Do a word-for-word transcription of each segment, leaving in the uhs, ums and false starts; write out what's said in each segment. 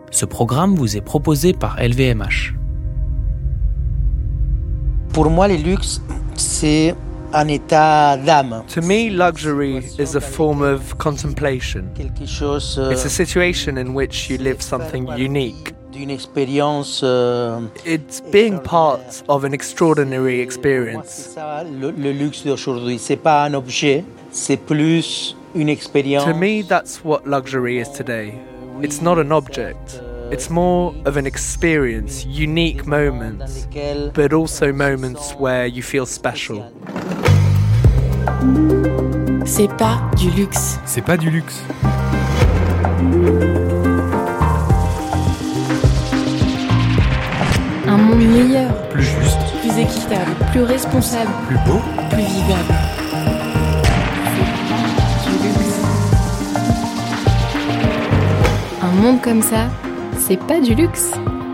Ce programme vous est proposé par L V M H. Pour moi, le luxe, c'est un état d'âme. To me, luxury is a form of contemplation. Quelque chose. euh, It's a situation in which you live something unique. D'une expérience. euh, It's being part of an extraordinary Moi, experience. c'est ça, le, le luxe d'aujourd'hui. C'est pas un objet, c'est plus une expérience. To me, that's what luxury is today. It's not an object. It's more of an experience, unique moments, dans lesquelles but also moments where you feel special. C'est pas du luxe. C'est pas du luxe. Un monde meilleur, Plus juste, plus équitable, plus responsable, plus beau. plus vivable. C'est du luxe. Un monde comme ça, c'est pas du luxe.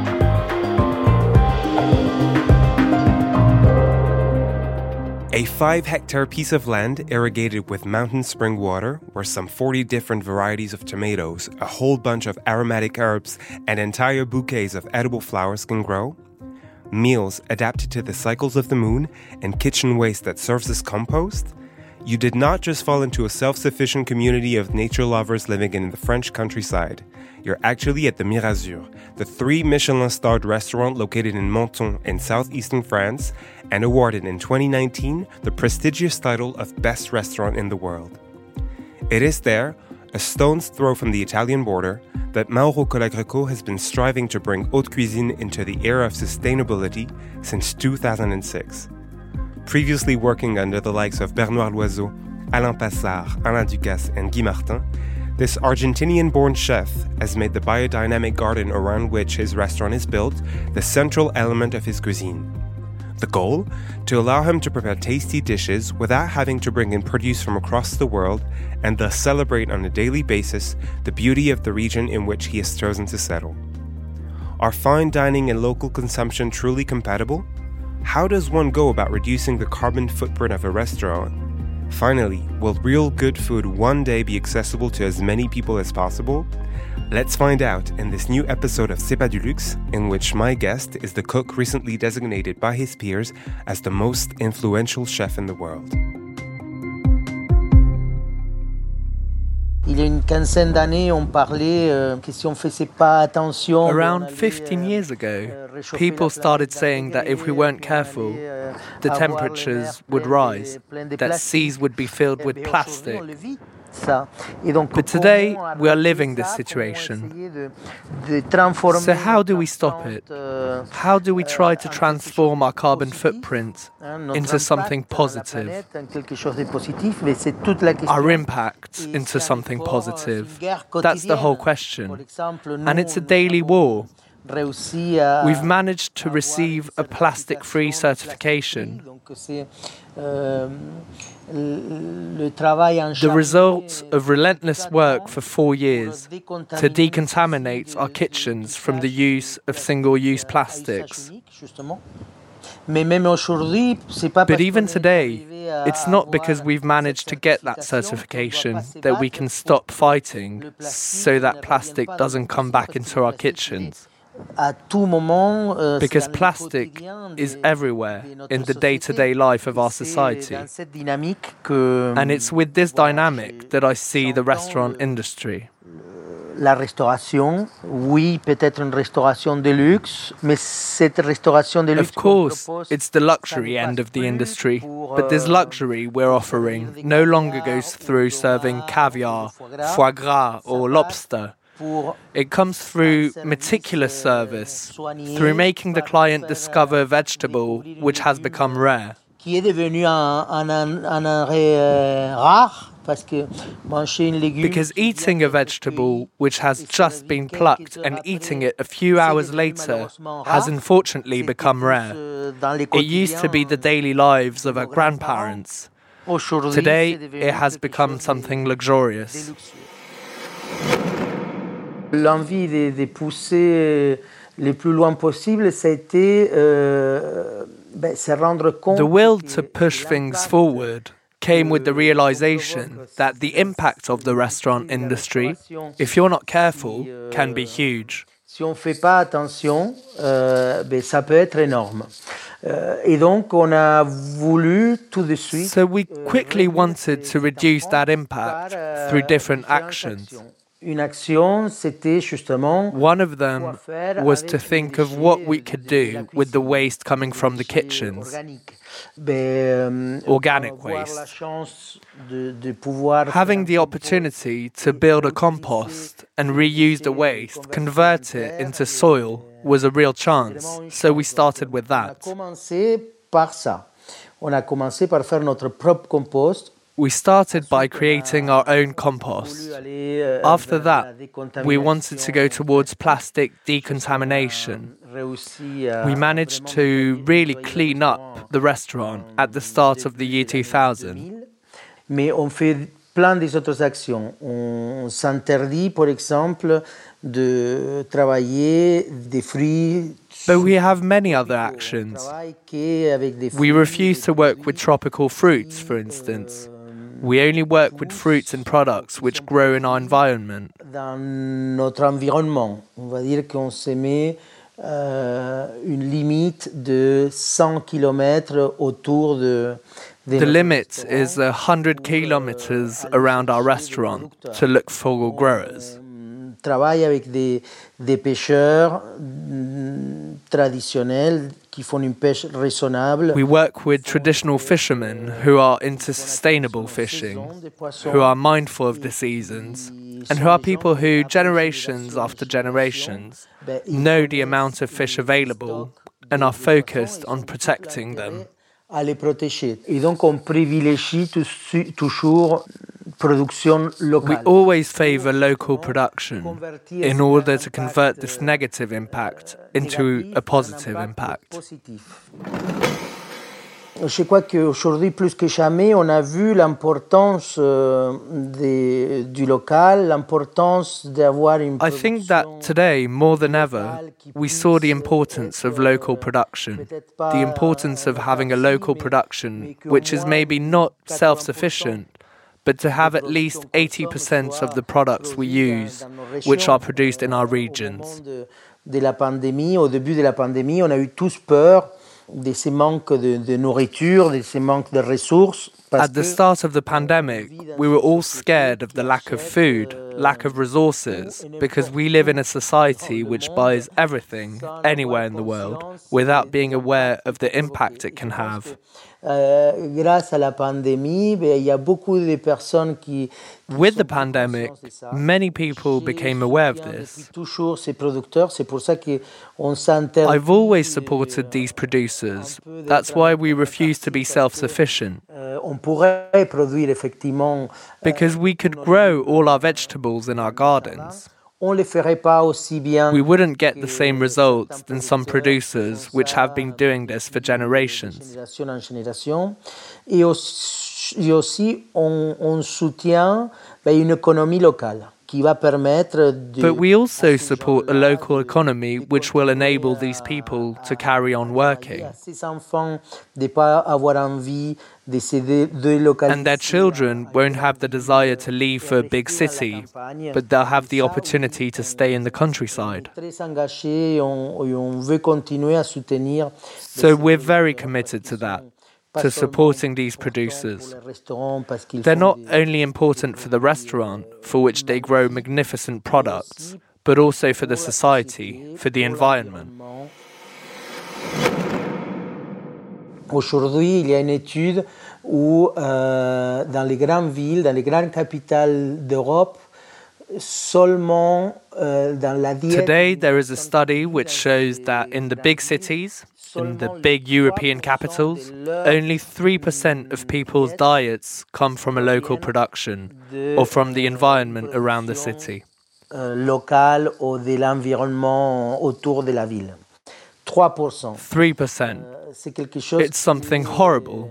A five-hectare piece of land irrigated with mountain spring water, where some forty different varieties of tomatoes, a whole bunch of aromatic herbs, and entire bouquets of edible flowers can grow. Meals adapted to the cycles of the moon, and kitchen waste that serves as compost. You did not just fall into a self-sufficient community of nature lovers living in the French countryside. You're actually at the Mirazur, the three Michelin-starred restaurant located in Menton in southeastern France, and awarded in twenty nineteen the prestigious title of Best Restaurant in the World. It is there, a stone's throw from the Italian border, that Mauro Colagreco has been striving to bring haute cuisine into the era of sustainability since two thousand six. Previously working under the likes of Bernard Loiseau, Alain Passard, Alain Ducasse, and Guy Martin, this Argentinian-born chef has made the biodynamic garden around which his restaurant is built the central element of his cuisine. The goal? To allow him to prepare tasty dishes without having to bring in produce from across the world and thus celebrate on a daily basis the beauty of the region in which he has chosen to settle. Are fine dining and local consumption truly compatible? How does one go about reducing the carbon footprint of a restaurant? Finally, will real good food one day be accessible to as many people as possible? Let's find out in this new episode of C'est pas du luxe, in which my guest is the cook recently designated by his peers as the most influential chef in the world. Il y a une quinzaine d'années, on parlait euh, que si on faisait pas attention. on Around allait, fifteen euh, years ago, euh, réchauffer people la started planète, saying that if we weren't careful, on allait, euh, the avoir les temperatures mers would pleines de- rise, pleines de that plastique. seas would be filled Eh with bien, aujourd'hui, plastic. on le vit, ça. Et donc, But comment today, arrêter we are living this ça, comment situation. essayer de- de transformer So how do we notre stop it? empreinte, euh, How do we try to euh, en transform our quelque chose de carbon positif, footprint hein, notre into something impact à la positive, planète, en quelque chose de positif, mais c'est toute la question. our impact Et into c'est un something effort, c'est positive? une guerre That's the whole quotidienne. question. Par exemple, And nous, it's a nous daily avons war. réussi à We've managed to avoir receive une a plastic-free certification. certification. Donc c'est euh, le, le travail en The result of relentless work for four years to decontaminate our kitchens from the use of single-use plastics. Mais même aujourd'hui, c'est pas But parce even qu'on est today, arrivé à it's not because avoir we've managed to get that cette certification qu'on doit that pas we se can battre stop pour fighting le plastique so ne that revienne plastic pas dans doesn't le come plastique, back parce que into le our plastique, il est kitchens. à tout moment, euh, c'est Because dans le plastic quotidien is de- everywhere de notre in the société. day-to-day life of Et our c'est society. dans cette dynamique que, And it's with this voilà, dynamic that I see the j'entends restaurant le- industry. la restauration, oui, peut-être une restauration de luxe, mais cette restauration de luxe Of qu'on course, propose, it's the ça luxury ne end passe of the plus industry, pour, but this euh, luxury we're offering no longer goes through serving caviar, foie gras, or lobster. pour It comes through meticulous service, through making the client discover a vegetable which has become rare. qui est devenu un, un, un, un arrêt euh, rare, parce que manger une légume Because eating a vegetable which has just been plucked and eating it a few hours later has unfortunately become rare. It used to be the daily lives of our grandparents. Today, it has become something luxurious. L'envie de, de pousser le plus loin possible, ça a été euh, ben, se rendre compte. The will que to push things forward came with the realization that the impact of the restaurant industry, if you're not careful, can be huge. Si on ne fait pas attention, euh, ben, ça peut être énorme. Euh, et donc, on a voulu tout de suite. So we quickly wanted to reduce that impact through different actions. Une action, c'était justement. One of them was to think of what we could do with the waste coming from the kitchens. Organic waste. Having the opportunity to build a compost and reuse the waste, convert it into soil, was a real chance. So we started with that. On a commencé par faire notre propre compost. We started by creating our own compost. After that, we wanted to go towards plastic decontamination. We managed to really clean up the restaurant at the start of the year two thousand. Mais on fait plein des autres actions. On s'interdit, par exemple, de travailler des fruits. But we have many other actions. We refuse to work with tropical fruits, for instance. We only work with fruits and products which grow in our environment. Dans notre environnement, on va dire qu'on se met euh, une limite de cent kilomètres autour de. The limit is one hundred kilometers around our restaurant to look for growers. Travaille avec des, des pêcheurs traditionnels qui font une pêche raisonnable. We work with traditional fishermen who are into sustainable fishing, who are mindful of the seasons, and who are people who, generations after generations, know the amount of fish available and are focused on protecting them. À les protéger. Et donc on privilégie toujours production locale. We always favor local production in order to convert this negative impact into a positive impact. Je crois qu'aujourd'hui, plus que jamais, on a vu l'importance euh, des, du local, l'importance d'avoir une I think that today, more than ever, we saw the importance of local production, the importance of having a local production which is maybe not self-sufficient, but to have at least eighty percent of the products we use which are produced in our regions. De la pandémie, au début de la pandémie, on a eu tous peur de ces manques de, de nourriture, de ces manques de ressources. At the start of the pandemic, we were all scared of the lack of food, lack of resources, because we live in a society which buys everything, anywhere in the world, without being aware of the impact it can have. Euh, grâce à la pandémie, ben, il y a beaucoup de personnes qui. With the pandemic, many people became aware of this. Toujours ces producteurs, c'est pour ça que on s'interdit. I've always supported these producers. That's why we refuse to be self-sufficient. Euh, on pourrait produire effectivement. Because we could grow all our vegetables in our gardens. On les ferait pas aussi bien. We wouldn't get the same results than some producers which have been doing this for generations. Génération en génération. Et aussi, aussi on, on soutient ben, une économie locale qui va permettre de. But we also support a local economy which will enable these people to carry on working. Ces enfants de pas avoir envie de se délocaliser. And their children won't have the desire to leave for a big city, but they'll have the opportunity to stay in the countryside. Très engagés, on, on veut continuer à soutenir. So we're very committed to that, to supporting these producers. They're not only important for the restaurant, for which they grow magnificent products, but also for the society, for the environment. Aujourd'hui, il y a une étude où, euh, dans les grandes villes, dans les grandes capitales d'Europe, seulement euh, dans la diète. Today, there is a study which shows that in the big cities, in the big European capitals, only three percent of people's diets come from a local production or from the environment around the city. Euh, local ou de l'environnement autour de la ville. trois pour cent. three percent. C'est quelque chose. It's something horrible.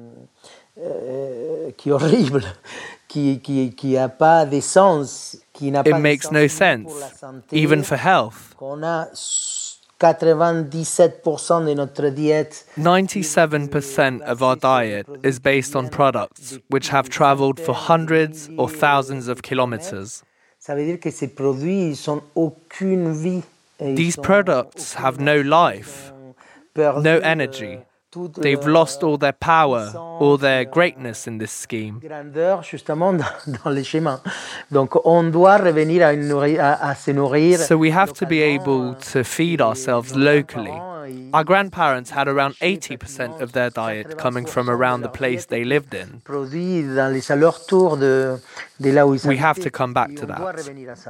Euh, qui est horrible, qui qui qui a pas de sens, qui n'a pas. It makes no sense, even for health. On a ninety-seven percent de notre diète. ninety-seven percent of our diet is based on products which have traveled for hundreds or thousands of kilometers. Ça veut dire que ces produits ils n'ont aucune vie. These products have no life, no energy. They've lost all their power, all their greatness in this scheme. Grandeur, justement, dans les schémas. Donc, on doit revenir à, une nourri- à, à se nourrir. So we have to be able to feed ourselves locally. Our grandparents had around eighty percent of their diet coming from around the place they lived in. Produits dans les alentours de, de là où ils We have habitaient. to come back to Et on doit that. revenir à ça.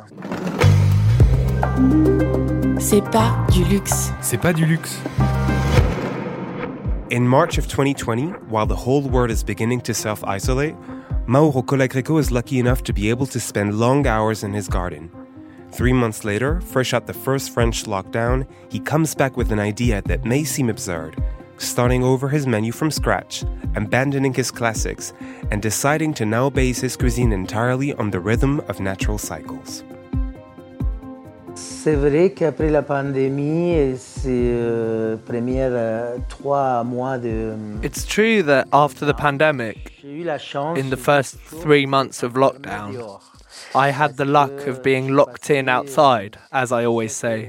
C'est pas du luxe. C'est pas du luxe. In March of twenty twenty, while the whole world is beginning to self-isolate, Mauro Colagreco is lucky enough to be able to spend long hours in his garden. Three months later, fresh out the first French lockdown, he comes back with an idea that may seem absurd, starting over his menu from scratch, abandoning his classics, and deciding to now base his cuisine entirely on the rhythm of natural cycles. C'est vrai qu'après la pandémie, et ces euh, premiers euh, trois mois de... It's true that after the pandemic, J'ai eu la chance... in the first three months of lockdown, I had the luck of being locked in outside, as I always say,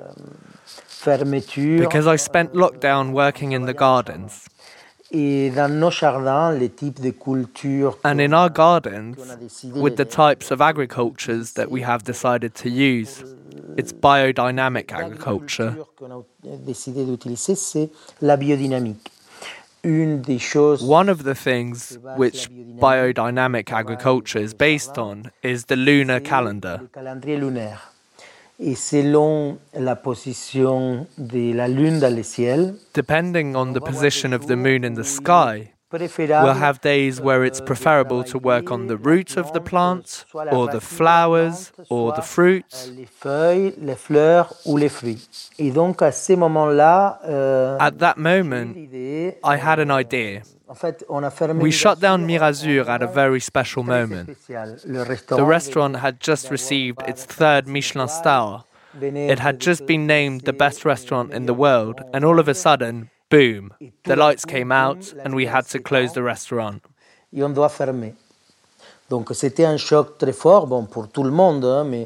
Fermeture. because I spent lockdown working in the gardens. Et dans nos jardins, les types de cultures... And in our gardens, with the types of agricultures that we have decided to use, it's biodynamic agriculture. qu'on a décidé d'utiliser, c'est la biodynamique. Une des choses... One of the things which biodynamic agriculture is based on is the lunar calendar. Le calendrier lunaire. Et selon la position de la lune dans le ciel, Depending on the position of the moon in the sky, préférable we'll have days where it's preferable to work on the roots of the plants, or the flowers, or the fruits. les feuilles, les fleurs ou les fruits. Et donc à ce moment-là, euh, At that moment, l'idée, I had an idea. en fait, on a fermé We Mirazur shut down Mirazur at a very special très moment. spécial. Le The restaurant restaurant had just received its third Michelin star. It had just been named the best restaurant in the world, and all of a sudden, boom, the lights came out and we had to close the restaurant. et on doit fermer. Donc c'était un choc très fort, bon, pour tout le monde, hein, mais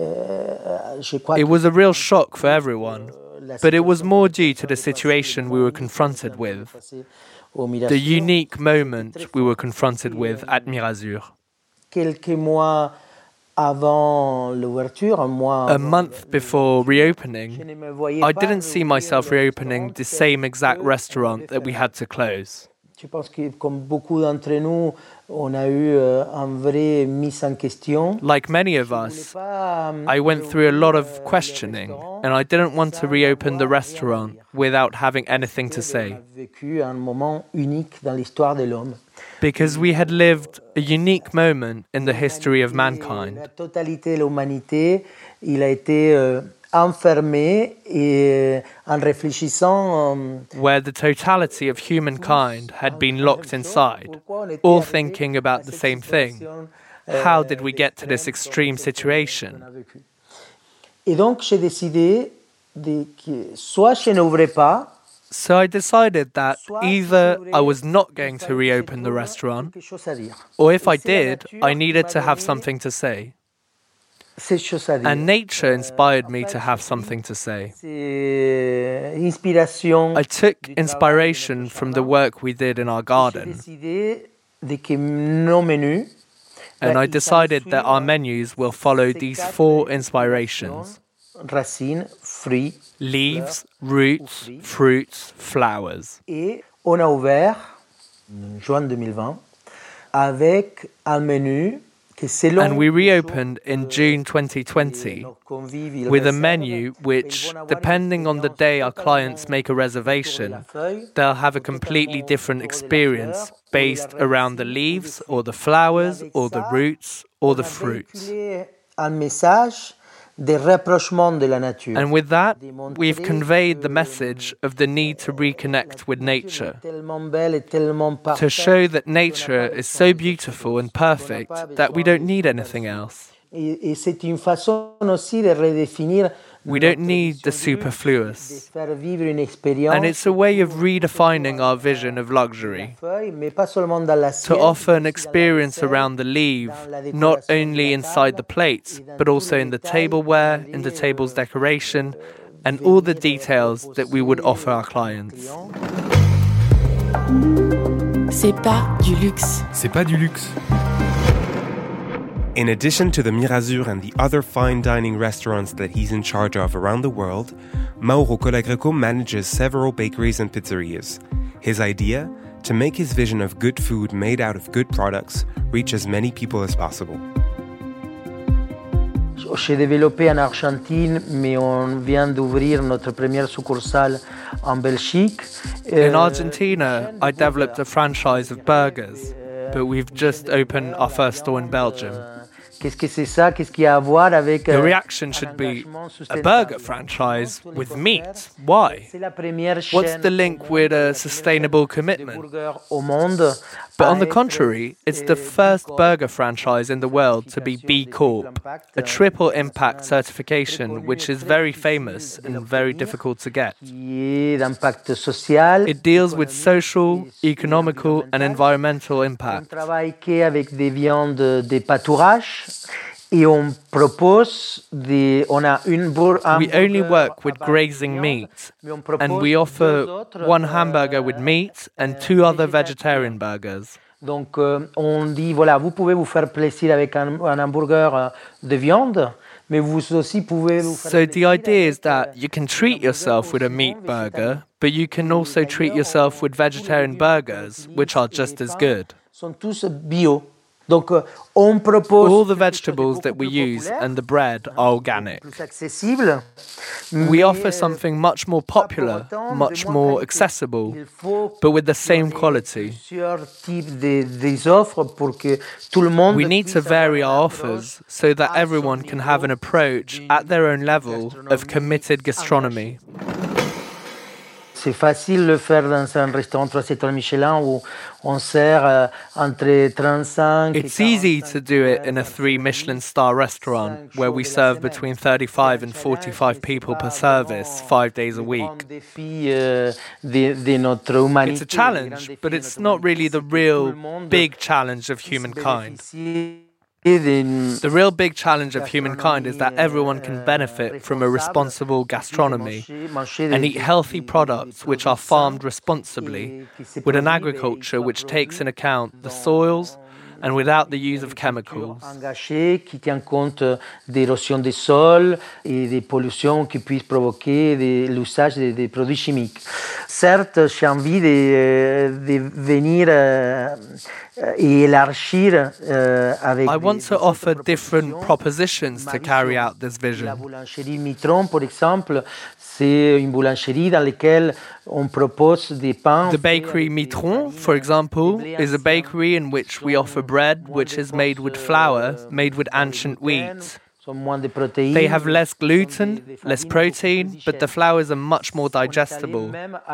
euh, je crois It que was a real shock for everyone, but it was more due to the situation we were confronted with, au Mirazur, the unique moment we were confronted with at Mirazur. quelques mois avant l'ouverture, un mois A avant, month before je reopening, ne me voyais I pas didn't see myself rouvrir le reopening the restaurant same tel exact que restaurant on that we devait had to close. Je pense que comme beaucoup d'entre nous, on a eu euh, une vraie mise en question. Like many of us, I went through a lot of questioning, and I didn't want to reopen the restaurant without having anything to On say, a vécu un moment unique dans l'histoire de l'homme. because we had lived a unique moment in the history of La mankind. totalité de l'humanité, il a été euh, enfermé et en réfléchissant euh, Where the totality of humankind had been locked inside, all thinking about the same thing. How did we get to this extreme situation? Et donc j'ai décidé de que soit je n'ouvrais pas, So I decided that soit either j'ouvrais, I was not going il to fallait que reopen the je trouve restaurant, quelque chose à dire. or if Et I c'est la did, nature I qui needed m'a to have donné something to say. ces choses à dire. And nature inspired me to have something to say. C'est inspiration. I took du travail de inspiration notre from the jardin. work we did in our J'ai garden, décidé de que nos menus, and ben, I ils decided that our s'ensuivent menus will follow ces these quatre four inspirations, inspirations: racines, fruits, leaves, roots, fruits, flowers. et on a ouvert en juin deux mille vingt avec un menu que selon And we les reopened choses, in euh, June twenty que twenty nos convives, ils with a réservent, menu ils which, vont avoir une depending on the expérience day our totalement clients make a autour de la reservation, feuille, they'll have a completely different experience based around the leaves or the flowers or the roots or the on a fruits. véhiculé un message de rapprochement de la nature. And with that, Démontrer we've conveyed the que message of the need to reconnect with nature, est tellement belle et tellement to parfaite show that nature is so beautiful and perfect that we don't need anything else. Et, et c'est une façon aussi de redéfinir We don't need the superfluous. And it's a way of redefining our vision of luxury, to offer an experience around the leaf, not only inside the plates, but also in the tableware, in the table's decoration, and all the details that we would offer our clients. C'est pas du luxe. C'est pas du luxe. In addition to the Mirazur and the other fine dining restaurants that he's in charge of around the world, Mauro Colagreco manages several bakeries and pizzerias. His idea? To make his vision of good food made out of good products reach as many people as possible. J'ai développé en Argentine, mais on vient d'ouvrir notre première succursale en Belgique. In Argentina, I developed a franchise of burgers, but we've just opened our first store in Belgium. Qu'est-ce que c'est ça? Qu'est-ce qu'il y a à voir avec Your reaction should be, a burger franchise with meat? Why? What's the link with a sustainable commitment? But on the contrary, it's the first burger franchise in the world to be B Corp, a triple impact certification which is very famous and very difficult to get. It deals with social, economical and environmental impact. Et on propose des, on a une bourre We only work with grazing meat, and we offer one hamburger with meat and two other vegetarian burgers. Donc euh, on dit voilà, vous pouvez vous faire plaisir avec un, un hamburger de viande, mais vous aussi pouvez vous faire So the idea is that you can treat yourself with a meat burger, but you can also treat yourself with vegetarian burgers, which are just as good. Sont tous bio. Donc, on propose all the vegetables that we use and the bread are organic. We offer something much more popular, much more accessible, but with the same quality. We need to vary our offers so that everyone can have an approach at their own level of committed gastronomy. C'est facile de le faire dans un restaurant trois étoiles Michelin où on sert euh, entre thirty-five It's easy to do it in a three Michelin star restaurant where we serve between thirty-five and forty-five people per service, five days a week. It's a challenge, but it's not really the real big challenge of humankind. The real big challenge of humankind is that everyone can benefit from a responsible gastronomy and eat healthy products which are farmed responsibly, with an agriculture which takes into account the soils and without the use of chemicals. Engagé qui tient compte d'érosion des sols et des pollutions qui puissent provoquer de l'usage des, des produits chimiques. Certes, j'ai envie de, de venir euh, et élargir euh, avec I want des, to offer different propositions to carry out this vision. La boulangerie Mitron, par exemple, c'est une boulangerie dans laquelle on propose des pains. The bakery Mitron, for example, is a bakery in which we offer bread which is made with flour, made with ancient wheat. They have less gluten, less protein, but the flours are much more digestible.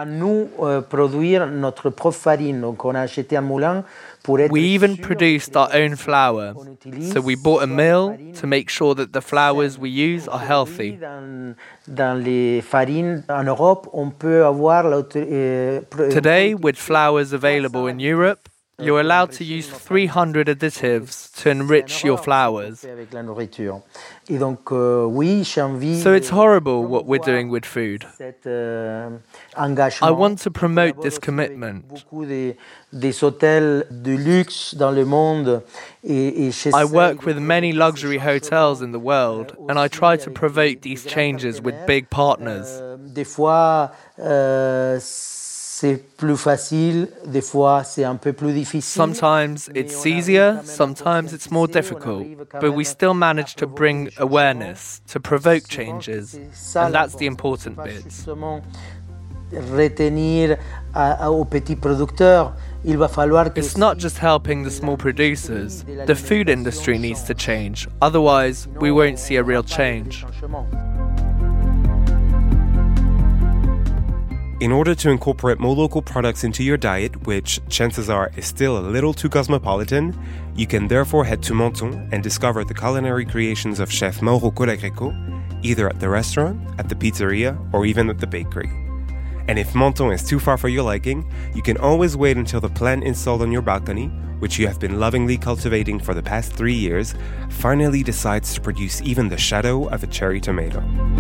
We even produced our own flour, so we bought a mill to make sure that the flours we use are healthy. Today, with flours available in Europe, you're allowed to use three hundred additives to enrich your flours. So it's horrible what we're doing with food. I want to promote this commitment. I work with many luxury hotels in the world, and I try to provoke these changes with big partners. Sometimes it's easier, sometimes it's more difficult, but we still manage to bring awareness, to provoke changes, and that's the important bit. It's not just helping the small producers. The food industry needs to change, otherwise we won't see a real change. In order to incorporate more local products into your diet, which chances are is still a little too cosmopolitan, you can therefore head to Menton and discover the culinary creations of Chef Mauro Colagreco, either at the restaurant, at the pizzeria, or even at the bakery. And if Menton is too far for your liking, you can always wait until the plant installed on your balcony, which you have been lovingly cultivating for the past three years, finally decides to produce even the shadow of a cherry tomato.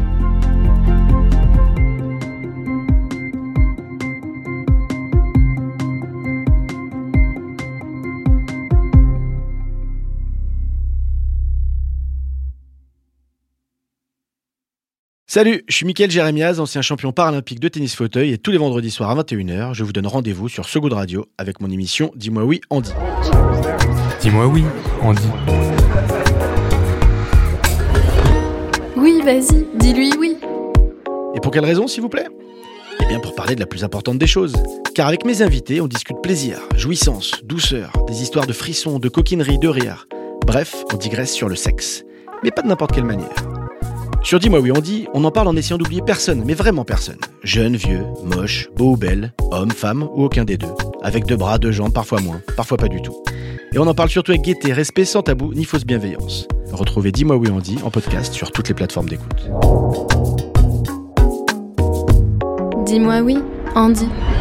Salut, je suis Mickaël Jérémiaz, ancien champion paralympique de tennis fauteuil, et tous les vendredis soirs à vingt et une heures, je vous donne rendez-vous sur So Good Radio avec mon émission Dis-moi oui, Andy. Dis-moi oui, Andy. Oui, vas-y, dis-lui oui. Et pour quelle raison, s'il vous plaît ? Eh bien pour parler de la plus importante des choses. Car avec mes invités, on discute plaisir, jouissance, douceur, des histoires de frissons, de coquinerie, de rire. Bref, on digresse sur le sexe. Mais pas de n'importe quelle manière. Sur Dis-moi oui, on dit, on en parle en essayant d'oublier personne, mais vraiment personne. Jeune, vieux, moche, beau ou belle, homme, femme ou aucun des deux. Avec deux bras, deux jambes, parfois moins, parfois pas du tout. Et on en parle surtout avec gaieté, respect, sans tabou, ni fausse bienveillance. Retrouvez Dis-moi oui, on dit en podcast sur toutes les plateformes d'écoute. Dis-moi oui, Andy.